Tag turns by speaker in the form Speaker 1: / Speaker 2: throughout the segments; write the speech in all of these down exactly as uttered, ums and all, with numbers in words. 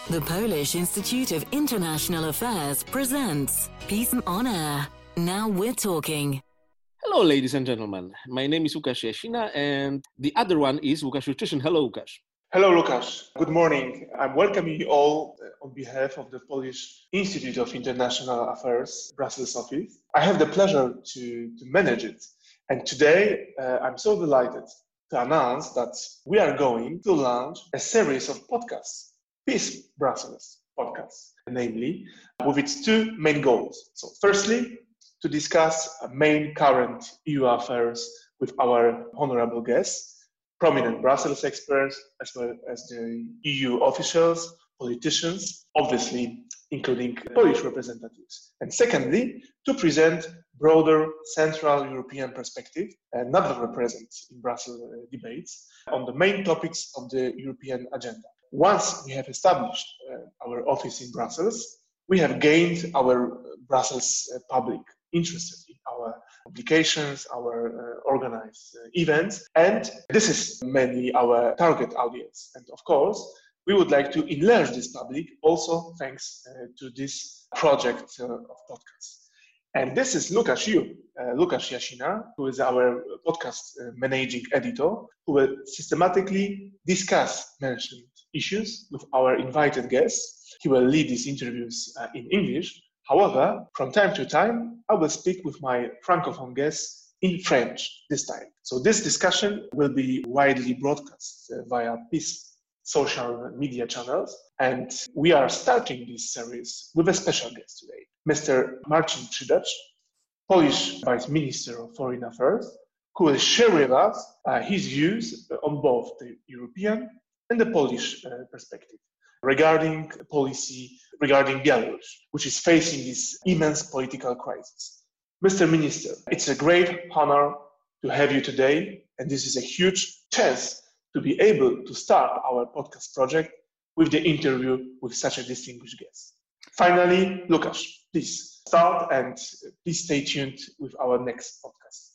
Speaker 1: The Polish Institute of International Affairs presents Peace on Air. Now we're talking.
Speaker 2: Hello, ladies and gentlemen. My name is Łukasz Jasina, and the other one is Łukasz Juszczyszyn. Hello, Łukasz.
Speaker 3: Hello, Lukasz. Good morning. I'm welcoming you all on behalf of the Polish Institute of International Affairs, Brussels office. I have the pleasure to, to manage it. And today, uh, I'm so delighted to announce that we are going to launch a series of podcasts, Peace Brussels podcasts, namely, with its two main goals. So firstly, to discuss main current E U affairs with our honorable guests, prominent Brussels experts, as well as the E U officials, politicians, obviously including Polish representatives. And secondly, to present broader Central European perspective, uh, not represent in Brussels uh, debates, on the main topics of the European agenda. Once we have established uh, our office in Brussels, we have gained our Brussels uh, public interested in our publications, our uh, organized uh, events, and this is mainly our target audience. And of course, we would like to enlarge this public also thanks uh, to this project uh, of podcasts. And this is Łukasz, you, uh, Łukasz Jasina, who is our podcast uh, managing editor, who will systematically discuss mentioned issues with our invited guests. He will lead these interviews uh, in English. However, from time to time, I will speak with my Francophone guests in French this time. So this discussion will be widely broadcast uh, via Peace social media channels. And we are starting this series with a special guest today, Mister Marcin Przydacz, Polish Vice Minister of Foreign Affairs, who will share with us uh, his views on both the European and the Polish uh, perspective regarding policy regarding Belarus, which is facing this immense political crisis. Mister Minister, it's a great honor to have you today, and this is a huge chance to be able to start our podcast project with the interview with such a distinguished guest. Finally, Łukasz, please start and please stay tuned with our next podcast.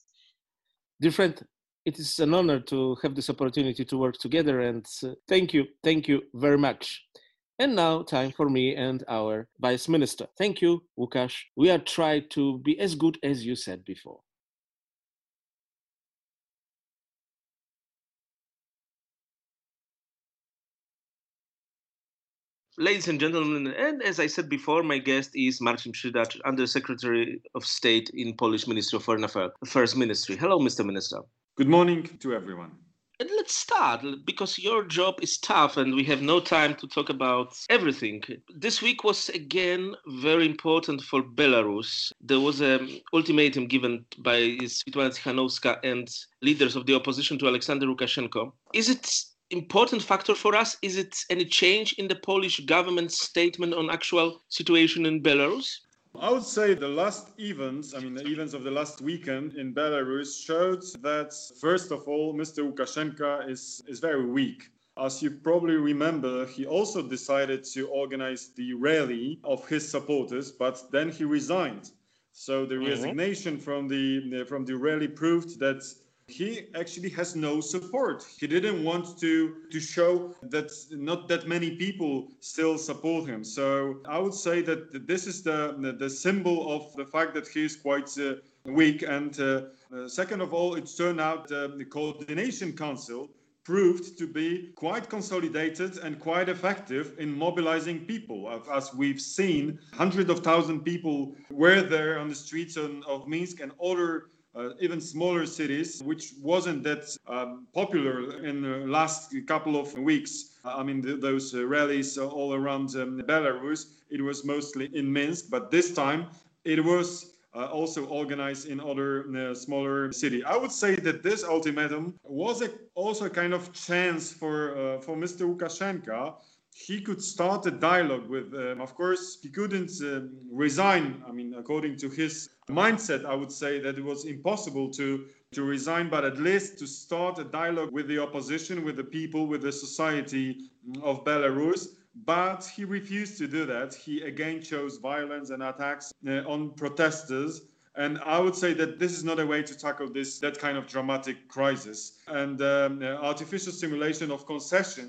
Speaker 2: Dear friend, it is an honor to have this opportunity to work together, and uh, thank you, thank you very much. And now, time for me and our Vice Minister. Thank you, Łukasz. We are trying to be as good as you said before. Ladies and gentlemen, and as I said before, my guest is Marcin Przydacz, Undersecretary of State in Polish Ministry of Foreign Affairs Ministry. Hello, Mister Minister.
Speaker 4: Good morning to everyone.
Speaker 2: And let's start, because your job is tough and we have no time to talk about everything. This week was again very important for Belarus. There was an ultimatum given by Swiatłana Tsikhanouska and leaders of the opposition to Alexander Lukashenko. Is it important factor for us? Is it any change in the Polish government statement on actual situation in Belarus?
Speaker 4: I would say the last events, I mean the events of the last weekend in Belarus showed that, first of all, Mister Lukashenko is, is very weak. As you probably remember, he also decided to organize the rally of his supporters, but then he resigned. So the mm-hmm. resignation from the, from the rally proved that he actually has no support. He didn't want to, to show that not that many people still support him. So I would say that this is the, the, the symbol of the fact that he is quite uh, weak. And uh, uh, second of all, it turned out uh, the Coordination Council proved to be quite consolidated and quite effective in mobilizing people. As we've seen, hundreds of thousands of people were there on the streets of Minsk and other Uh, even smaller cities, which wasn't that um, popular in the last couple of weeks. Uh, I mean, the, those uh, rallies all around um, Belarus, it was mostly in Minsk, but this time it was uh, also organized in other uh, smaller cities. I would say that this ultimatum was a, also a kind of chance for, uh, for Mister Lukashenko. He could start a dialogue with, um, of course, he couldn't uh, resign. I mean, according to his mindset, I would say that it was impossible to, to resign, but at least to start a dialogue with the opposition, with the people, with the society of Belarus. But he refused to do that. He again chose violence and attacks uh, on protesters. And I would say that this is not a way to tackle this, that kind of dramatic crisis. And um, uh, artificial simulation of concessions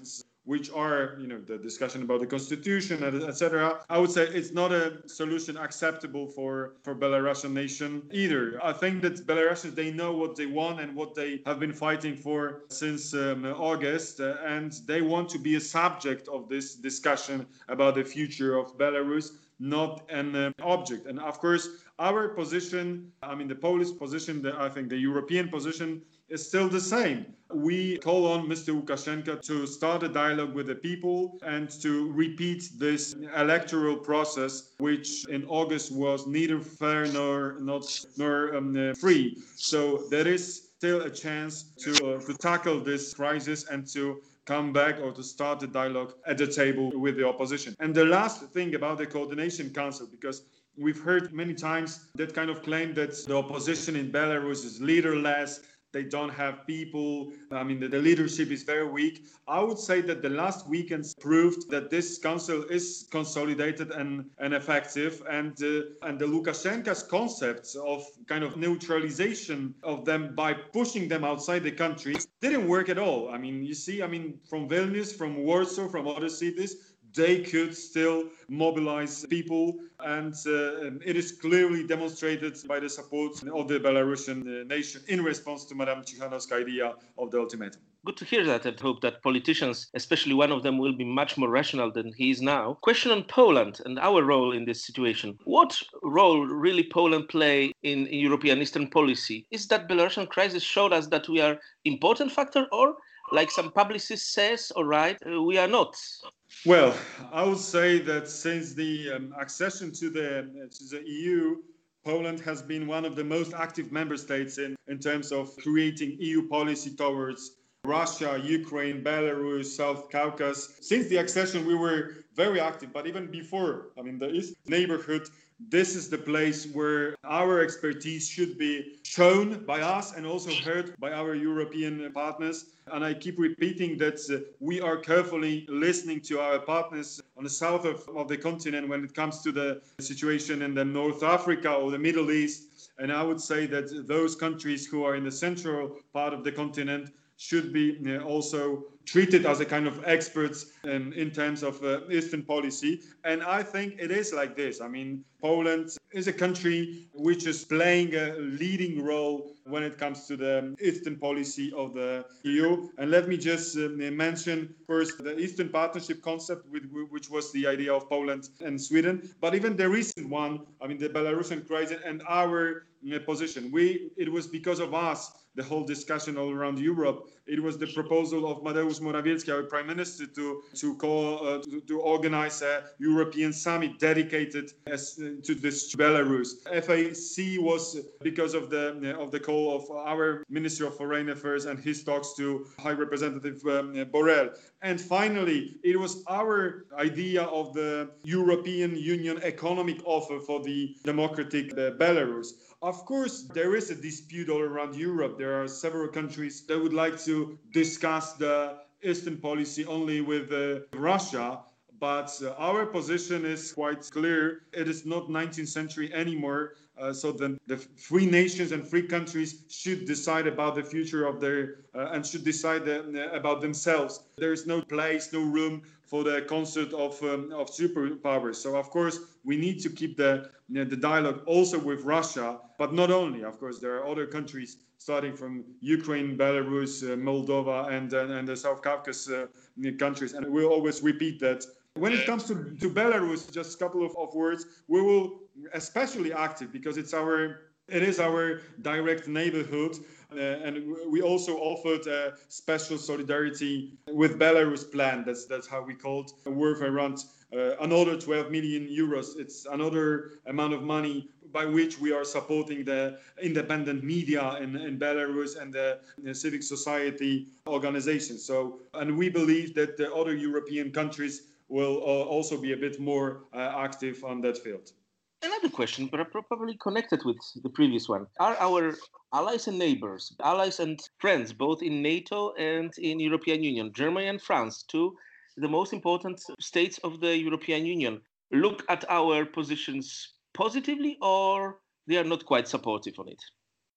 Speaker 4: which are, you know, the discussion about the constitution, et cetera. I would say it's not a solution acceptable for, for Belarusian nation either. I think that Belarusians, they know what they want and what they have been fighting for since um, August, uh, and they want to be a subject of this discussion about the future of Belarus, not an uh, object. And of course, our position, I mean, the Polish position, the, I think the European position is still the same. We call on Mister Lukashenko to start a dialogue with the people and to repeat this electoral process, which in August was neither fair nor not nor um, uh, free. So there is still a chance to uh, to tackle this crisis and to come back or to start a dialogue at the table with the opposition. And the last thing about the Coordination Council, because we've heard many times that kind of claim that the opposition in Belarus is leaderless, they don't have people, I mean, the, the leadership is very weak. I would say that the last weekends proved that this council is consolidated and, and effective, and, uh, and the Lukashenko's concepts of kind of neutralization of them by pushing them outside the country didn't work at all. I mean, you see, I mean, from Vilnius, from Warsaw, from other cities, they could still mobilize people, and uh, it is clearly demonstrated by the support of the Belarusian uh, nation in response to Madame Tikhanovska's idea of the ultimatum.
Speaker 2: Good to hear that, and hope that politicians, especially one of them, will be much more rational than he is now. Question on Poland and our role in this situation. What role really Poland play in European Eastern policy? Is that Belarusian crisis showed us that we are important factor, or like some publicist says, all right, uh, we are not?
Speaker 4: Well, I would say that since the um, accession to the, uh, to the E U, Poland has been one of the most active member states in, in terms of creating E U policy towards Russia, Ukraine, Belarus, South Caucasus. Since the accession, we were very active, but even before, I mean, the East neighborhood, this is the place where our expertise should be shown by us and also heard by our European partners. And I keep repeating that uh, we are carefully listening to our partners on the south of, of the continent when it comes to the situation in the North Africa or the Middle East. And I would say that those countries who are in the central part of the continent should be uh, also treated as a kind of experts um, in terms of uh, Eastern policy. And I think it is like this. I mean, Poland is a country which is playing a leading role when it comes to the Eastern policy of the E U. And let me just uh, mention first the Eastern Partnership concept, with, which was the idea of Poland and Sweden. But even the recent one, I mean, the Belarusian crisis and our uh, position, we it was because of us, the whole discussion all around Europe. It was the proposal of Mateusz Morawiecki, our prime minister, to to call uh, to, to organize a European summit dedicated as, uh, to this Belarus. F A C was because of the uh, of the call of our Minister of Foreign Affairs and his talks to High Representative um, Borrell. And finally, it was our idea of the European Union economic offer for the democratic uh, Belarus. Of course, there is a dispute all around Europe. There are several countries that would like to discuss the Eastern policy only with uh, Russia. But uh, our position is quite clear. It is not nineteenth century anymore. Uh, so the, the free nations and free countries should decide about the future of their uh, and should decide the, uh, about themselves. There is no place, no room for the concert of um, of superpowers. So of course we need to keep the you know, the dialogue also with Russia, but not only. Of course, there are other countries starting from Ukraine, Belarus, uh, Moldova, and uh, and the South Caucasus uh, countries, and we'll always repeat that. When it comes to, to Belarus, just a couple of, of words, we will especially active because it's our it is our direct neighborhood, uh, and we also offered a special solidarity with Belarus plan. That's that's how we called, worth around uh, another twelve million euros. It's another amount of money by which we are supporting the independent media in, in Belarus and the, the civic society organizations. So, and we believe that the other European countries will uh, also be a bit more uh, active on that field.
Speaker 2: Another question, but probably connected with the previous one. Are our allies and neighbors, allies and friends, both in NATO and in European Union, Germany and France, two the most important states of the European Union, look at our positions positively, or they are not quite supportive on it?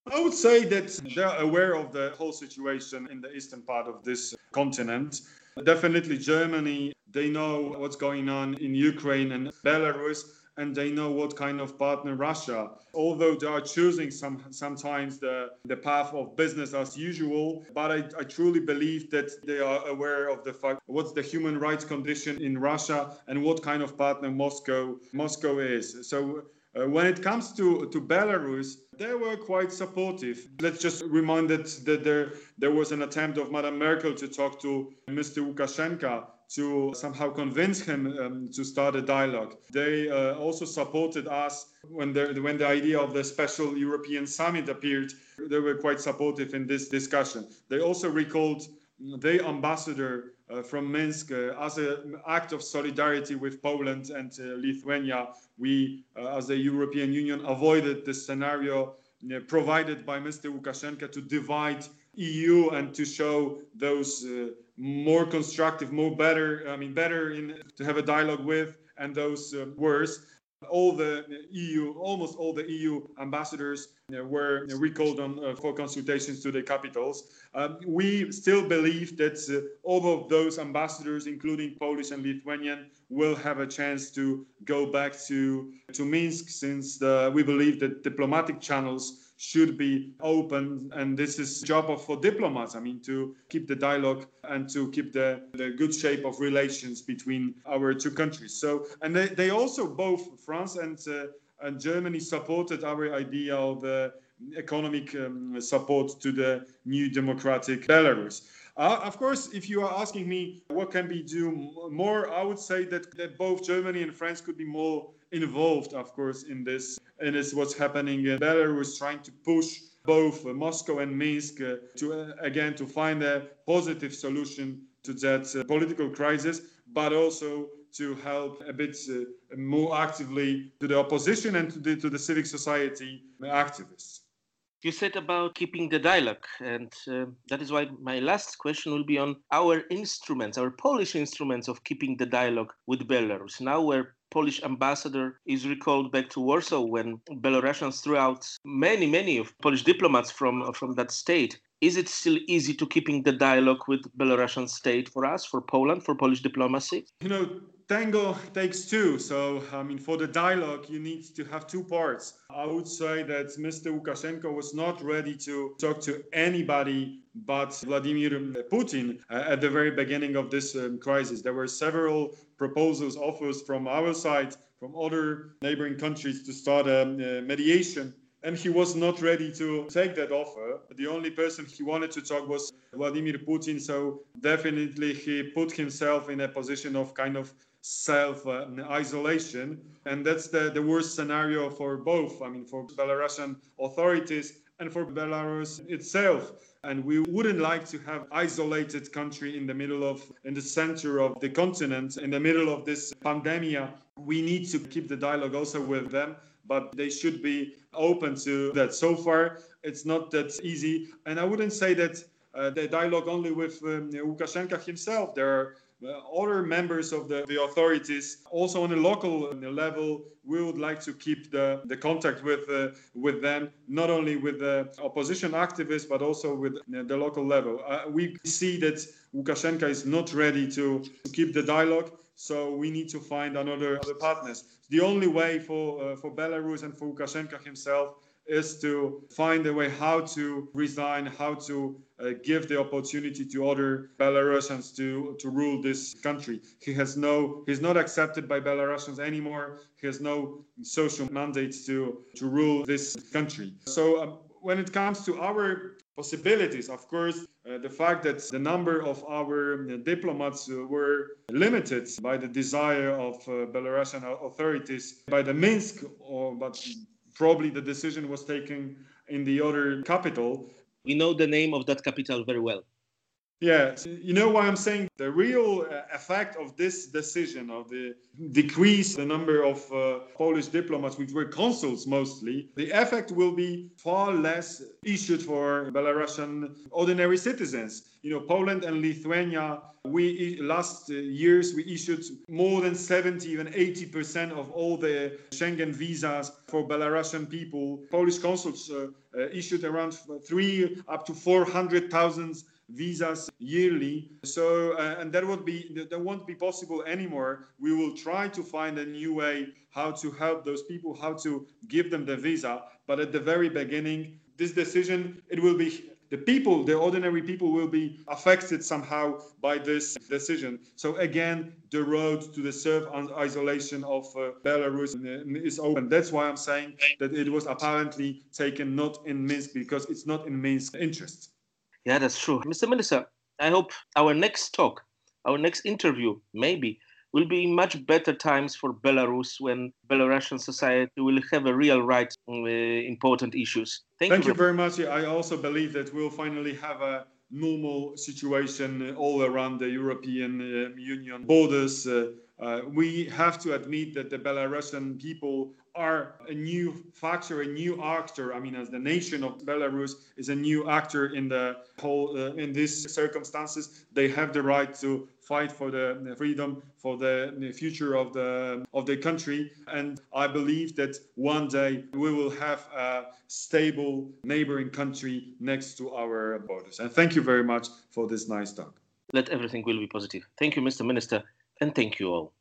Speaker 4: I would say that they're aware of the whole situation in the eastern part of this continent. Definitely Germany, they know what's going on in Ukraine and Belarus, and they know what kind of partner Russia. Although they are choosing some sometimes the, the path of business as usual, but I, I truly believe that they are aware of the fact what's the human rights condition in Russia and what kind of partner Moscow Moscow is. So Uh, when it comes to, to Belarus, they were quite supportive. Let's just remind that, that there, there was an attempt of Madame Merkel to talk to Mister Lukashenko to somehow convince him um, to start a dialogue. They uh, also supported us when the, when the idea of the special European summit appeared. They were quite supportive in this discussion. They also recalled the ambassador uh, from Minsk uh, as an act of solidarity with Poland and uh, Lithuania. We, uh, as the European Union, avoided the scenario uh, provided by Mister Lukashenko to divide E U and to show those uh, more constructive, more better, I mean, better in, to have a dialogue with, and those uh, worse. All the E U, almost all the E U ambassadors uh, were recalled on, uh, for consultations to the capitals. Um, we still believe that uh, all of those ambassadors, including Polish and Lithuanian, will have a chance to go back to, to Minsk, since the, we believe that diplomatic channels should be open, and this is job of for diplomats, I mean, to keep the dialogue and to keep the, the good shape of relations between our two countries. So, and they, they also, both France and, uh, and Germany, supported our idea of uh, economic um, support to the new democratic Belarus. Uh, of course, if you are asking me what can we do more, I would say that, that both Germany and France could be more involved, of course, in this, and it's what's happening in Belarus, trying to push both uh, Moscow and Minsk uh, to, uh, again, to find a positive solution to that uh, political crisis, but also to help a bit uh, more actively to the opposition and to the, to the civic society activists.
Speaker 2: You said about keeping the dialogue, and uh, that is why my last question will be on our instruments, our Polish instruments of keeping the dialogue with Belarus. Now, where Polish ambassador is recalled back to Warsaw, when Belarusians threw out many, many of Polish diplomats from, from that state, is it still easy to keeping the dialogue with Belarusian state for us, for Poland, for Polish diplomacy?
Speaker 4: You know, tango takes two. So, I mean, for the dialogue, you need to have two parts. I would say that Mister Lukashenko was not ready to talk to anybody but Vladimir Putin uh, at the very beginning of this um, crisis. There were several proposals, offers from our side, from other neighboring countries to start a um, uh, mediation. And he was not ready to take that offer. The only person he wanted to talk was Vladimir Putin. So definitely he put himself in a position of kind of self-isolation. Uh, and that's the, the worst scenario for both, I mean, for Belarusian authorities and for Belarus itself. And we wouldn't like to have isolated country in the middle of, in the center of the continent, in the middle of this pandemic. We need to keep the dialogue also with them, but they should be open to that. So far, it's not that easy. And I wouldn't say that uh, the dialogue only with um, Lukashenko himself. There are uh, other members of the, the authorities. Also on a local level, we would like to keep the, the contact with, uh, with them, not only with the opposition activists, but also with the local level. Uh, we see that Lukashenko is not ready to, to keep the dialogue. So we need to find another other partners. The only way for uh, for Belarus and for Lukashenko himself is to find a way how to resign, how to uh, give the opportunity to other Belarusians to, to rule this country. He has no, he's not accepted by Belarusians anymore. He has no social mandate to, to rule this country. So um, when it comes to our possibilities, of course, uh, the fact that the number of our uh, diplomats uh, were limited by the desire of uh, Belarusian authorities, by the Minsk, or but probably the decision was taken in the other capital.
Speaker 2: We know the name of that capital very well.
Speaker 4: Yeah, you know why I'm saying the real effect of this decision of the decrease the number of uh, Polish diplomats, which were consuls mostly, the effect will be far less issued for Belarusian ordinary citizens. You know, Poland and Lithuania, we last years we issued more than seventy, even eighty percent of all the Schengen visas for Belarusian people. Polish consuls uh, uh, issued around three up to four hundred thousand visas yearly. So, uh, and that would be, that won't be possible anymore. We will try to find a new way how to help those people, how to give them the visa. But at the very beginning, this decision, it will be, the people, the ordinary people will be affected somehow by this decision. So again, the road to the self-isolation of uh, Belarus is open. That's why I'm saying that it was apparently taken not in Minsk, because it's not in Minsk's interest.
Speaker 2: Yeah, that's true. Mister Minister, I hope our next talk, our next interview, maybe, will be much better times for Belarus when Belarusian society will have a real right on uh, important issues. Thank,
Speaker 4: Thank
Speaker 2: you.
Speaker 4: you very much. I also believe that we'll finally have a normal situation all around the European uh, Union borders. Uh, uh, we have to admit that the Belarusian people are a new factor, a new actor. I mean, as the nation of Belarus is a new actor in the whole, uh, in these circumstances, they have the right to fight for the freedom, for the future of the of the country. And I believe that one day we will have a stable neighboring country next to our borders. And thank you very much for this nice talk.
Speaker 2: Let everything will be positive. Thank you, Mister Minister, and thank you all.